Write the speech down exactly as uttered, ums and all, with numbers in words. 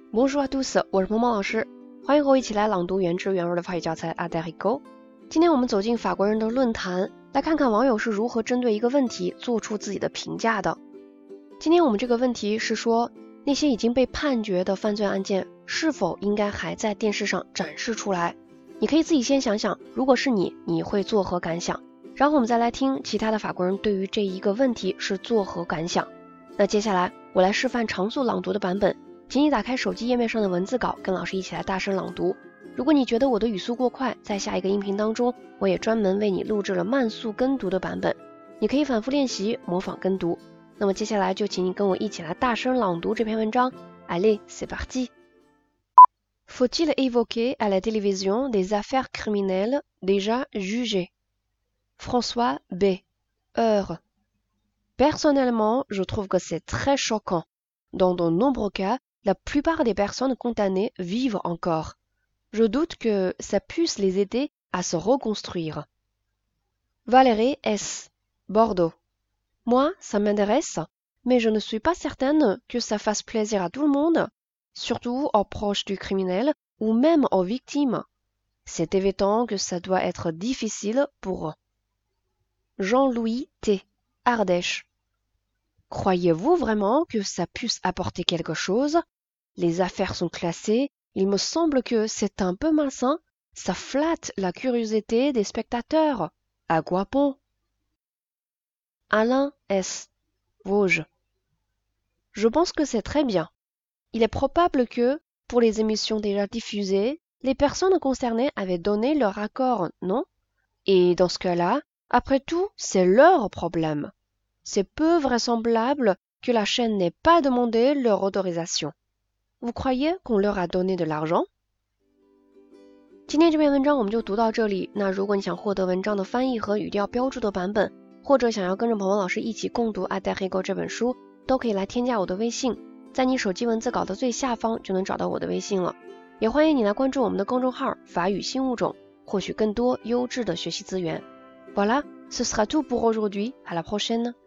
Bonjour à tous， 我是萌萌老师，欢迎和我一起来朗读原汁原味的法语教材 Aderigo。今天我们走进法国人的论坛，来看看网友是如何针对一个问题做出自己的评价的。今天我们这个问题是说，那些已经被判决的犯罪案件是否应该还在电视上展示出来？你可以自己先想想，如果是你，你会作何感想？然后我们再来听其他的法国人对于这一个问题是作何感想。那接下来我来示范常速朗读的版本，请你打开手机页面上的文字稿，跟老师一起来大声朗读。如果你觉得我的语速过快，在下一个音频当中，我也专门为你录制了慢速跟读的版本，你可以反复练习，模仿跟读。那么接下来就请你跟我一起来大声朗读这篇文章。Allez, c'est parti! Faut-il évoquer à la télévision des affaires criminelles déjà jugées? François B. Heure. Personnellement, je trouve que c'est très choquant. Dans de nombreux cas, la plupart des personnes condamnées vivent encore. Je doute que ça puisse les aider à se reconstruire. Valérie S. Bordeaux. Moi, ça m'intéresse, mais je ne suis pas certaine que ça fasse plaisir à tout le monde, surtout aux proches du criminel ou même aux victimes. C'est évident que ça doit être difficile pour eux. Jean-Louis T. Ardèche. Croyez-vous vraiment que ça puisse apporter quelque chose? Les affaires sont classées, il me semble que c'est un peu malsain, ça flatte la curiosité des spectateurs. À quoi bon? Alain S. Vosges. Je pense que c'est très bien. Il est probable que, pour les émissions déjà diffusées, les personnes concernées avaient donné leur accord, non? Et dans ce cas-là, après tout, c'est leur problème. C'est peu vraisemblable que la chaîne n'ait pas demandé leur autorisation. Vous croyez qu'on leur a donné de l'argent? 今天这篇文章我们就读到这里。那如果你想获得文章的翻译和语调标注的版本，或者想要跟着鹏鹏老师一起共读《Aderigo》这本书，都可以来添加我的微信，在你手机文字稿的最下方就能找到我的微信了。也欢迎你来关注我们的公众号“法语新物种”，获取更多优质的学习资源。Voilà, ce sera tout pour aujourd'hui. À la prochaine.